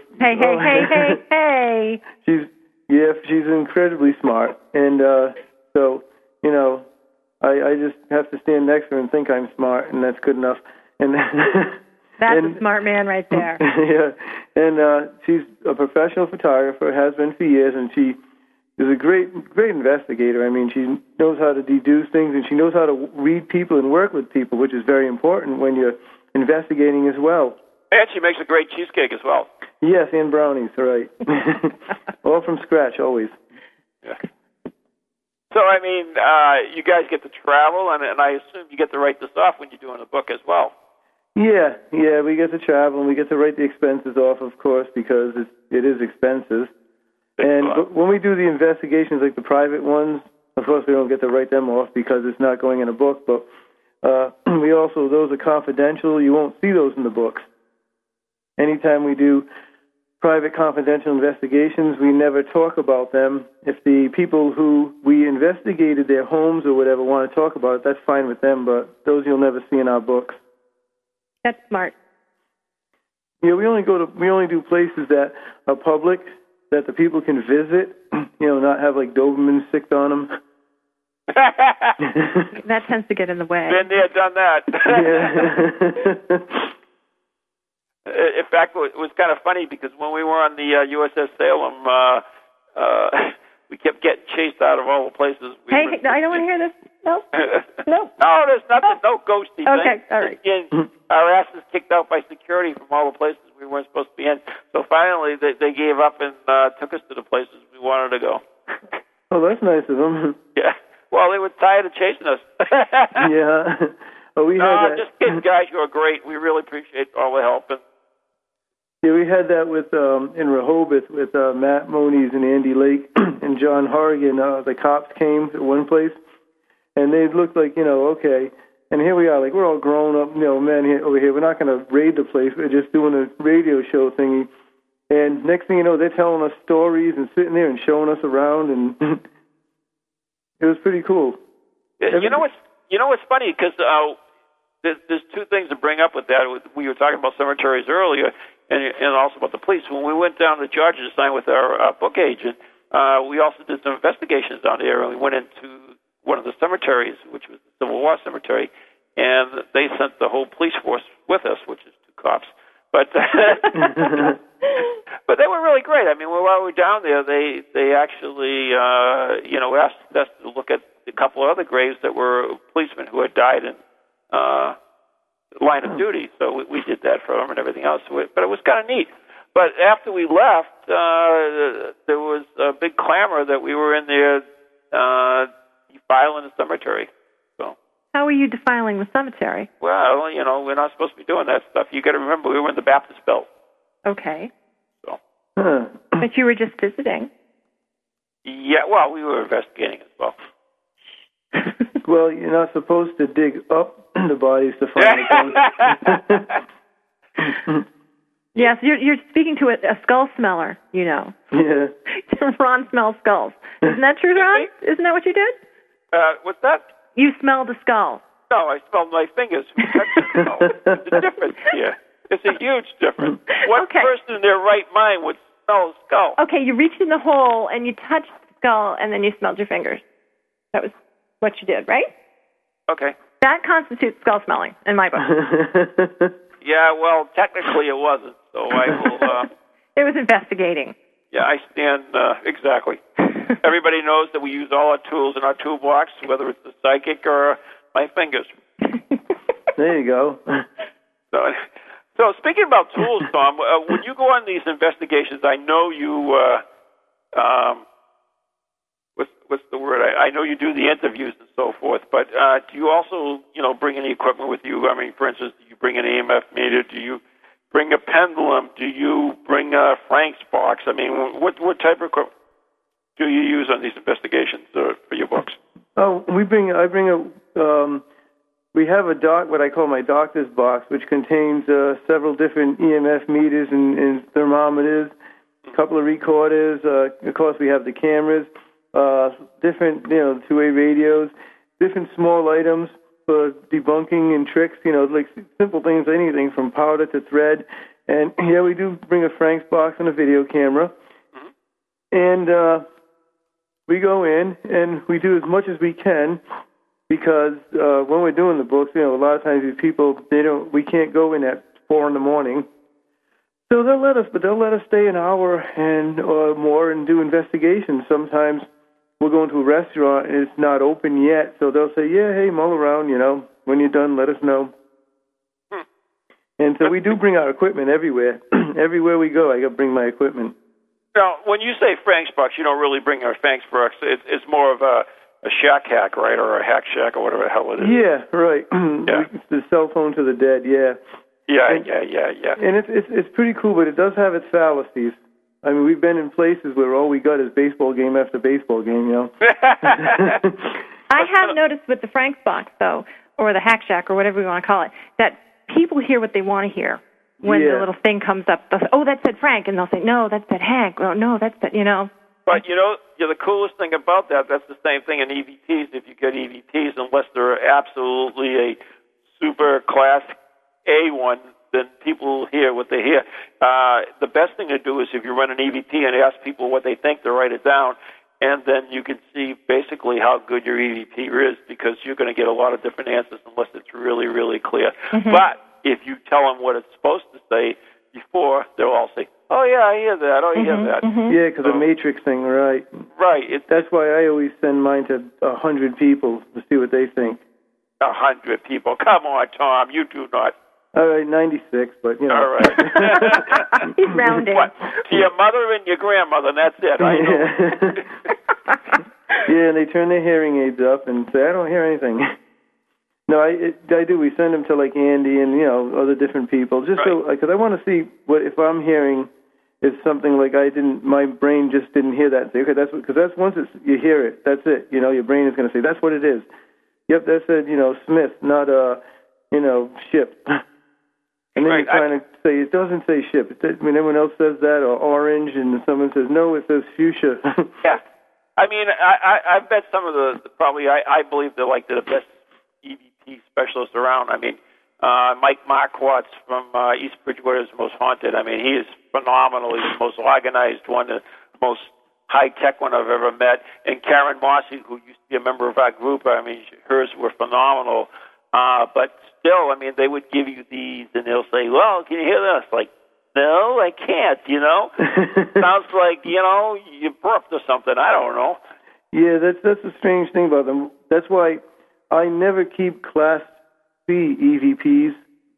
Hey! She's incredibly smart, and so I just have to stand next to her and think I'm smart, and that's good enough. And that's a smart man right there. Yeah, and she's a professional photographer, has been for years, and she is a great investigator. I mean, she knows how to deduce things, and she knows how to read people and work with people, which is very important when you're investigating as well. And she makes a great cheesecake as well. Yes, and brownies, right. All from scratch, always. Yeah. So, I mean, you guys get to travel, and I assume you get to write this off when you're doing a book as well. Yeah, we get to travel, and we get to write the expenses off, of course, because it is expensive. And when we do the investigations, like the private ones, of course we don't get to write them off because it's not going in a book, but we also, those are confidential. You won't see those in the books. Anytime we do private confidential investigations, we never talk about them. If the people who we investigated their homes or whatever want to talk about it, that's fine with them, but those you'll never see in our books. That's smart. Yeah, we only do places that are public, that the people can visit, not have like Doberman sicked on them. That tends to get in the way. Been there, done that. Yeah. In fact, it was kind of funny because when we were on the USS Salem, we kept getting chased out of all the places. I don't want to hear this. No. No, there's nothing. No ghosty thing. Okay, all right. Again, our asses kicked out by security from all the places we weren't supposed to be in. So finally, they gave up and took us to the places we wanted to go. Oh, that's nice of them. Yeah. Well, they were tired of chasing us. Yeah. Oh, we had that. Just kidding, guys. You are great. We really appreciate all the help. And yeah, we had that with in Rehoboth with Matt Moniz and Andy Lake and John Horrigan. The cops came to one place, and they looked like, okay. And here we are, like, we're all grown up, men over here. We're not going to raid the place. We're just doing a radio show thingy. And next thing you know, they're telling us stories and sitting there and showing us around, and it was pretty cool. You know what's funny? Because there's two things to bring up with that. We were talking about cemeteries earlier, and also about the police. When we went down to Georgia to sign with our book agent, we also did some investigations down there, and we went into one of the cemeteries, which was the Civil War cemetery, and they sent the whole police force with us, which is 2 cops. But but they were really great. I mean, while we were down there, they actually asked us to look at a couple of other graves that were policemen who had died in line of duty. So we did that for them and everything else. But it was kind of neat. But after we left, there was a big clamor that we were in there defiling the cemetery. So. How are you defiling the cemetery? Well, we're not supposed to be doing that stuff. You got to remember, we were in the Baptist Belt. Okay. So. But you were just visiting. Yeah, well, we were investigating as well. Well, you're not supposed to dig up the bodies to find the ghosts. Yes, you're speaking to a skull smeller, Yeah. Ron smells skulls. Isn't that true, Ron? Isn't that what you did? What's that? You smelled a skull. No, I smelled my fingers. There's a difference here. It's a huge difference. What person in their right mind would smell a skull? Okay, you reached in the hole and you touched the skull and then you smelled your fingers. That was what you did, right? Okay. That constitutes skull smelling in my book. Yeah, well, technically it wasn't, so I will... It was investigating. Yeah, I stand... exactly. Everybody knows that we use all our tools in our toolbox, whether it's the psychic or my fingers. There you go. So speaking about tools, Tom, when you go on these investigations, I know you... what's the word? I know you do the interviews and so forth, but do you also, bring any equipment with you? I mean, for instance, do you bring an EMF meter? Do you bring a pendulum? Do you bring a Frank's box? I mean, what type of equipment do you use on these investigations for your books? Oh, we have what I call my doctor's box, which contains several different EMF meters and thermometers, a couple of recorders. Of course, we have the cameras. Different, two-way radios, different small items for debunking and tricks, like simple things, anything from powder to thread. And, yeah, we do bring a Frank's box and a video camera. Mm-hmm. And we go in and we do as much as we can because when we're doing the books, a lot of times these people, we can't go in at 4 a.m. So they'll let us stay an hour or more and do investigations. Sometimes we'll go into a restaurant and it's not open yet, so they'll say, yeah, hey, mull around, when you're done, let us know. And so we do bring our equipment everywhere. Everywhere we go, I got to bring my equipment. Now, when you say Frank's Box, you don't really bring our Frank's Box. It's more of a shack hack, right, or a hack shack, or whatever the hell it is. Yeah, right. Yeah. The cell phone to the dead, yeah. Yeah. And it's pretty cool, but it does have its fallacies. I mean, we've been in places where all we got is baseball game after baseball game, you know. I have noticed with the Frank's Box, though, or the Hack Shack, or whatever you want to call it, that people hear what they want to hear when the little thing comes up. They'll say, oh, that said Frank, and they'll say, no, that said Hank. Well, no, that's that, you know. But, the coolest thing about that's the same thing in EVPs. If you get EVPs, unless they're absolutely a super class A one, then people hear what they hear. The best thing to do is if you run an EVP and ask people what they think, to write it down, and then you can see basically how good your EVP is, because you're going to get a lot of different answers unless it's really, really clear. Mm-hmm. But if you tell them what it's supposed to say before, they'll all say, oh, yeah, I hear that, oh, I hear that. Mm-hmm. Yeah, because the matrix thing, right. Right. That's why I always send mine to 100 people to see what they think. 100 people. Come on, Tom, you do not. All right, 96, but, you know. All right. He's rounding. What? To your mother and your grandmother, and that's it. I know. Yeah, and they turn their hearing aids up and say, I don't hear anything. No, I do. We send them to, like, Andy and, other different people, just so, because I want to see what, if I'm hearing is something like my brain just didn't hear that. Say, okay, because that's once you hear it, that's it. Your brain is going to say, that's what it is. Yep, that said, Smith, not, ship. And then you kind of say, it doesn't say ship. Everyone else says that, or orange, and someone says, no, it says fuchsia. Yeah. I mean, I bet some of I believe they're like the best EVP specialists around. I mean, Mike Marquardt from East Bridgewater is the most haunted. I mean, he is phenomenal. He's the most organized one, the most high-tech one I've ever met. And Karen Mossy, who used to be a member of our group, I mean, hers were phenomenal. But still, I mean, they would give you these, and they'll say, well, can you hear this? Like, no, I can't, Sounds like, you burped or something. I don't know. Yeah, that's a strange thing about them. That's why I never keep Class C EVPs,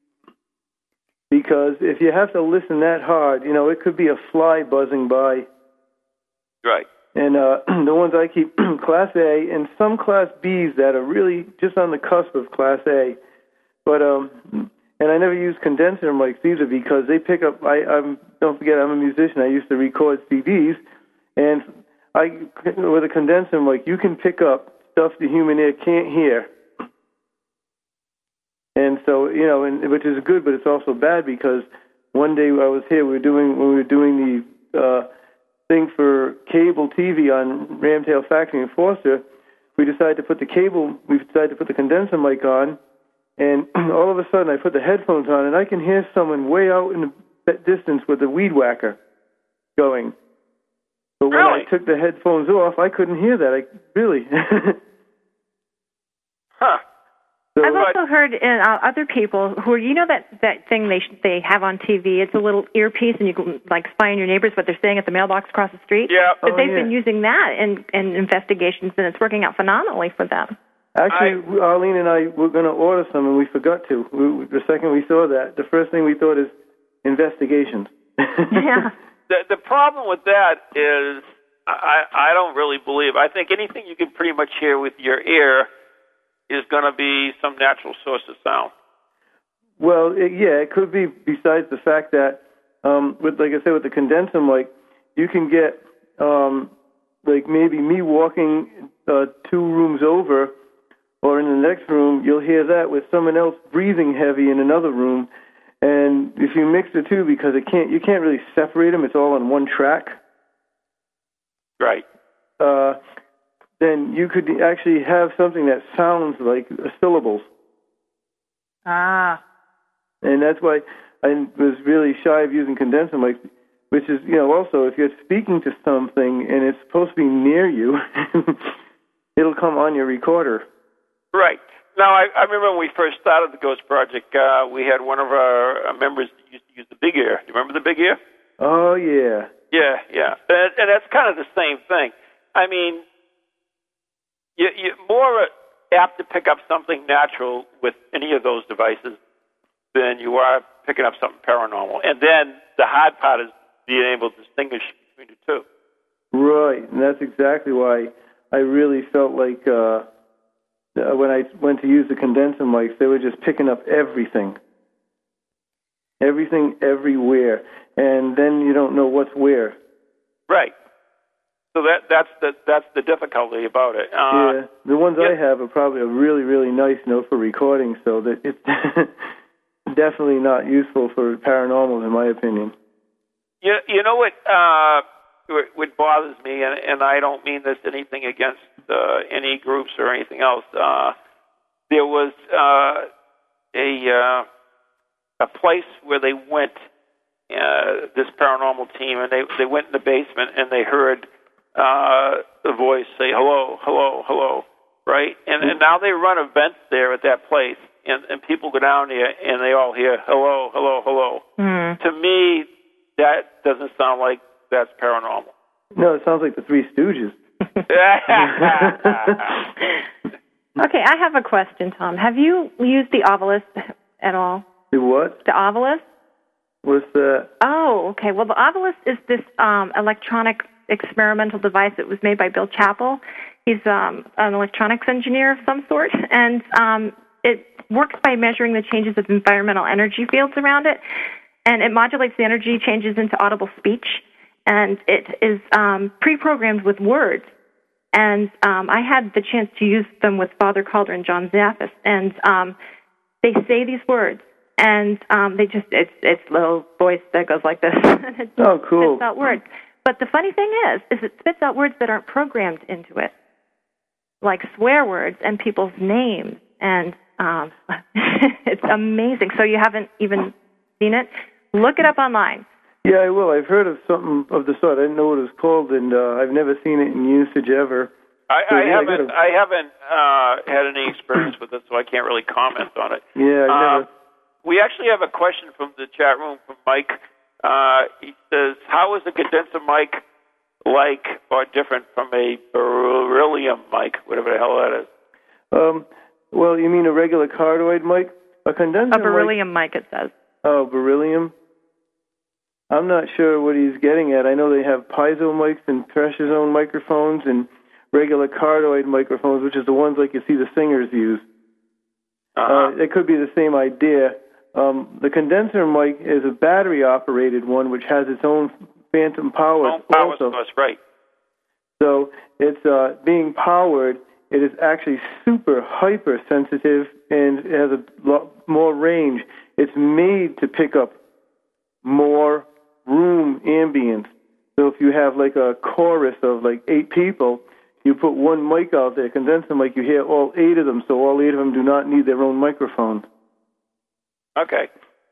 because if you have to listen that hard, it could be a fly buzzing by. Right. And the ones I keep, Class A, and some Class Bs that are really just on the cusp of Class A. But and I never use condenser mics either, because they pick up. Don't forget, I'm a musician. I used to record CDs, and with a condenser mic, you can pick up stuff the human ear can't hear. And so, which is good, but it's also bad, because one day I was here, when we were doing the thing for cable TV on Ramtail Factory in Foster, we decided to put the condenser mic on, and all of a sudden I put the headphones on, and I can hear someone way out in the distance with a weed whacker going. But when I took the headphones off, I couldn't hear that. Really. Huh. So, I've also heard other people who are, that thing they have on TV. It's a little earpiece, and you can spy on your neighbors what they're saying at the mailbox across the street. Yeah. But they've been using that in investigations, and it's working out phenomenally for them. Actually, Arlene and I were going to order some, and we forgot to. The second we saw that, the first thing we thought is investigations. Yeah. The problem with that is I don't really believe. I think anything you can pretty much hear with your ear is going to be some natural source of sound. Well, it could be, besides the fact that, with the condenser mic, you can get, maybe me walking 2 rooms over, or in the next room, you'll hear that with someone else breathing heavy in another room. And if you mix the two, because you can't really separate them, it's all on one track. Right. Then you could actually have something that sounds like syllables. Ah. And that's why I was really shy of using condenser mics, which is, also if you're speaking to something and it's supposed to be near you, it'll come on your recorder. Right. Now, I remember when we first started the Ghost Project, we had one of our members that used to use the Big Ear. Do you remember the Big Ear? Oh, yeah. Yeah. And that's kind of the same thing. I mean, you're more apt to pick up something natural with any of those devices than you are picking up something paranormal. And then the hard part is being able to distinguish between the two. Right, and that's exactly why I really felt like when I went to use the condenser mics, they were just picking up everything. Everything, everywhere. And then you don't know what's where. Right. So that's the difficulty about it. Yeah, the ones I have are probably really, really nice, for recording, so that it's definitely not useful for paranormal, in my opinion. You know what bothers me, and I don't mean this anything against any groups or anything else. There was a place where they went, this paranormal team, and they went in the basement and they heard the voice say, hello, hello, hello, right? And now they run events there at that place, and people go down there and they all hear, hello, hello, hello. Mm. To me, that doesn't sound like that's paranormal. No, it sounds like the Three Stooges. Okay, I have a question, Tom. Have you used the Ovilus at all? The what? The Ovilus? What's that? Oh, okay. Well, the Ovilus is this electronic experimental device that was made by Bill Chappell. He's an electronics engineer of some sort, and it works by measuring the changes of environmental energy fields around it, and it modulates the energy changes into audible speech, and it is pre-programmed with words. And I had the chance to use them with Father Calder and John Zaffis, and they say these words, and they just—it's a little voice that goes like this. And it oh, cool! Spits out words. But the funny thing is it spits out words that aren't programmed into it, like swear words and people's names, and it's amazing. So you haven't even seen it? Look it up online. Yeah, I will. I've heard of something of the sort. I didn't know what it was called, and I've never seen it in usage ever. I haven't had any experience with it, so I can't really comment on it. Yeah, I never. We actually have a question from the chat room from Mike. He says, how is a condenser mic like or different from a beryllium mic, whatever the hell that is? Well, you mean a regular cardioid mic? A condenser A beryllium mic, it says. Oh, beryllium? I'm not sure what he's getting at. I know they have piezo mics and pressure zone microphones and regular cardioid microphones, which is the ones like you see the singers use. It could be the same idea. The condenser mic is a battery-operated one, which has its own phantom power. Power source, right. So it's being powered. It is actually super hypersensitive, and it has a lot more range. It's made to pick up more room ambience. So if you have like a chorus of like 8 people, you put one mic out there, condenser mic, you hear all 8 of them, so all 8 of them do not need their own microphone. Okay.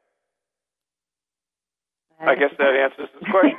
I guess that answers this question.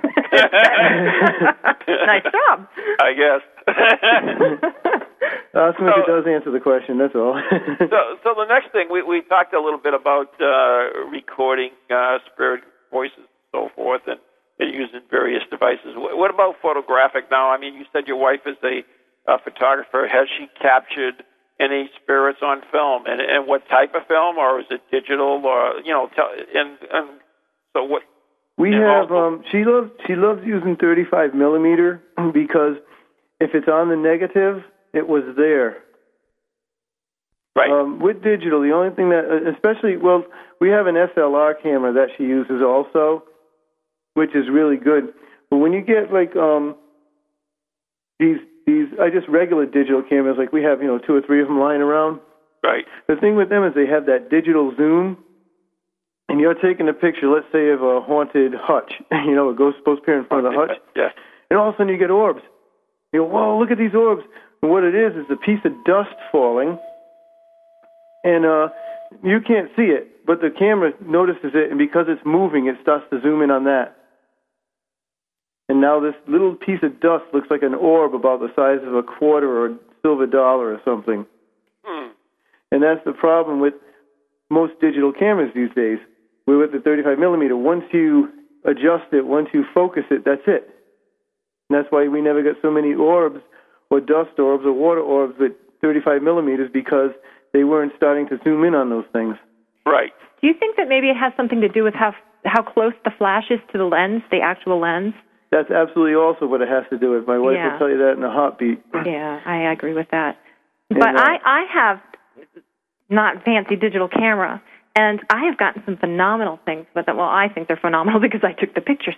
Nice job. I guess. It does answer the question, that's all. so the next thing, we talked a little bit about recording spirit voices and so forth and using various devices. What about photographic now? I mean, you said your wife is a photographer. Has she captured any spirits on film, and what type of film, or is it digital, or and so what? We have. She loves using 35 millimeter because if it's on the negative, it was there. Right. With digital, the only thing that, especially, we have an SLR camera that she uses also, which is really good. But when you get like these just regular digital cameras, like we have 2 or 3 of them lying around. Right. The thing with them is they have that digital zoom, and you're taking a picture, let's say, of a haunted hutch, a ghost supposed to appear in front of the hutch. Yeah. And all of a sudden you get orbs. You go, whoa, look at these orbs. And what it is a piece of dust falling, and you can't see it, but the camera notices it, and because it's moving, it starts to zoom in on that. And now this little piece of dust looks like an orb about the size of a quarter or a silver dollar or something. And that's the problem with most digital cameras these days. We're with the 35 millimeter. Once you adjust it, once you focus it, that's it. And that's why we never get so many orbs or dust orbs or water orbs with 35 millimeters, because they weren't starting to zoom in on those things. Right. Do you think that maybe it has something to do with how close the flash is to the lens, the actual lens? That's absolutely also what it has to do with. My wife will tell you that in a heartbeat. Yeah, I agree with that. But I have not fancy digital camera, and I have gotten some phenomenal things with it. Well, I think they're phenomenal because I took the pictures.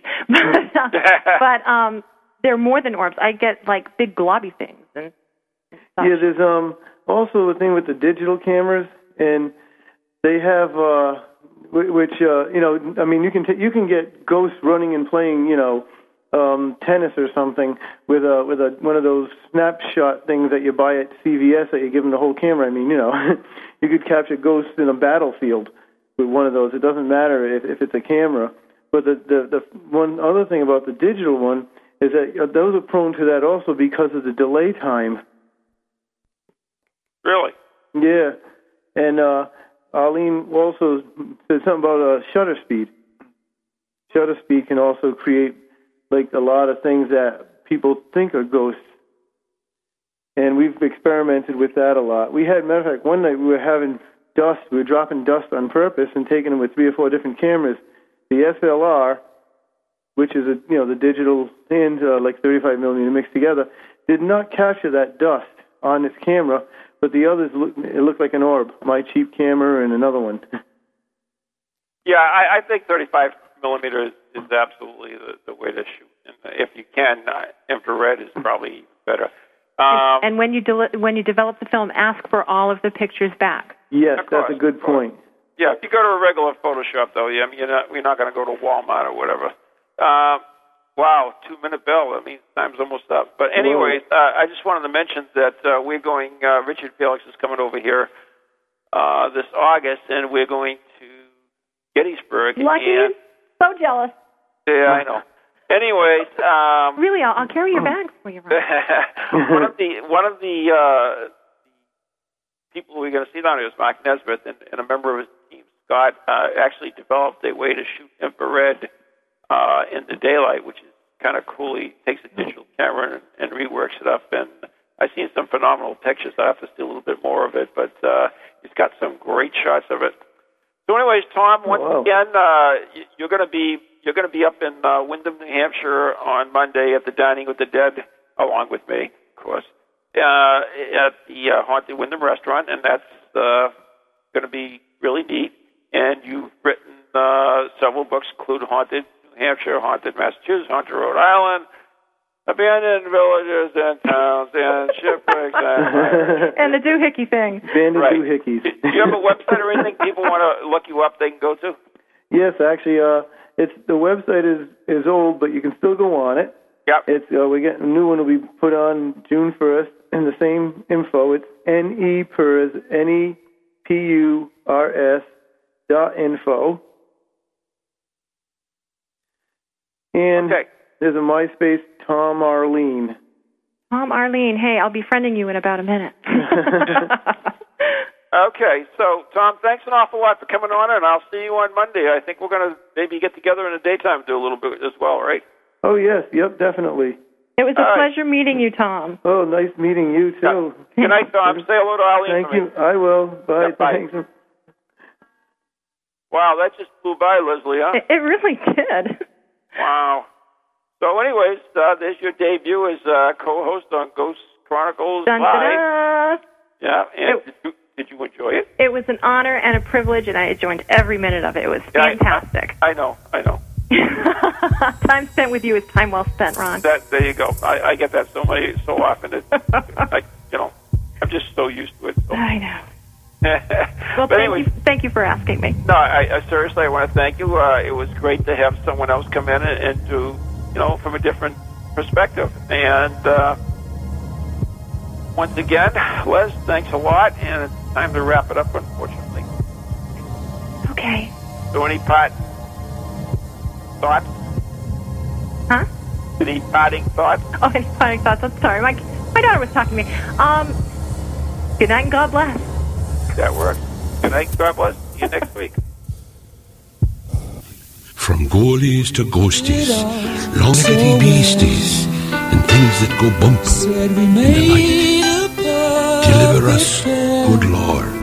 But they're more than orbs. I get like big globby things and stuff. Yeah, there's also a thing with the digital cameras, and they have which I mean, you can get ghosts running and playing, tennis or something with one of those snapshot things that you buy at CVS that you give them the whole camera. I mean, you could capture ghosts in a battlefield with one of those. It doesn't matter if it's a camera. But the one other thing about the digital one is that those are prone to that also because of the delay time. Really? Yeah. And Arlene also said something about shutter speed. Shutter speed can also create like a lot of things that people think are ghosts. And we've experimented with that a lot. Matter of fact, one night we were having dust. We were dropping dust on purpose and taking them with 3 or 4 different cameras. The SLR, which is the digital and like 35 millimeter mixed together, did not capture that dust on its camera, but the others looked like an orb. My cheap camera and another one. Yeah, I think 35 millimeter is absolutely the way to shoot. And if you can, infrared is probably better. And when you develop the film, ask for all of the pictures back. Yes, that's a good point. Yeah, if you go to a regular Photoshop, though, we're not going to go to Walmart or whatever. Wow, 2-minute bell. I mean, time's almost up. But anyways, I just wanted to mention that we're going, Richard Felix is coming over here this August, and we're going to Gettysburg. Lucky? So jealous. Yeah, I know. Anyways, really, I'll carry your bags for you. One of the people we're going to see down here is Mark Nesbitt, and a member of his team, Scott, actually developed a way to shoot infrared in the daylight, which is kind of cool. He takes a digital camera and reworks it up, and I've seen some phenomenal pictures. I have to see a little bit more of it, but he's got some great shots of it. So, anyways, Tom, once again, you're going to be up in Windham, New Hampshire on Monday at the Dining with the Dead, along with me, of course, at the Haunted Windham Restaurant, and that's going to be really neat. And you've written several books, include Haunted New Hampshire, Haunted Massachusetts, Haunted Rhode Island, Abandoned Villages and Towns, and Shipwrecks. And the doohickey thing. Abandoned doohickeys. Do you have a website or anything people want to look you up they can go to? Yes, actually, the website is old, but you can still go on it. Yep. It's we get a new one will be put on June 1st, and the same info. It's nepurs.info. And there's a MySpace, Tom Arlene. Tom Arlene. Hey, I'll be friending you in about a minute. Okay, so, Tom, thanks an awful lot for coming on, and I'll see you on Monday. I think we're going to maybe get together in the daytime and do a little bit as well, right? Oh, yes. Yep, definitely. It was a pleasure meeting you, Tom. Oh, nice meeting you, too. Good night, Tom. Say hello to Arlene. Thank you. I will. Bye. Yeah, bye. Thanks. Wow, that just flew by, Leslie, huh? It really did. Wow. So, anyways, there's your debut as co-host on Ghost Chronicles Dun, Live. da, da. Yeah, and did you enjoy it? It was an honor and a privilege, and I enjoyed every minute of it. It was fantastic. I know. Time spent with you is time well spent, Ron. There you go. I get that so often. I'm just so used to it. So. I know. Well, thank you for asking me. No, I seriously, I want to thank you. It was great to have someone else come in and do, from a different perspective. And once again, Les, thanks a lot, and it's time to wrap it up, unfortunately. Okay. So any parting thoughts? Huh? Any parting thoughts? Oh, any parting thoughts? I'm sorry. My daughter was talking to me. Good night and God bless. That works. Good night, God bless. See you next week. From ghoulies to ghosties, long-getty beasties, and things that go bump in the night. Deliver us, good Lord.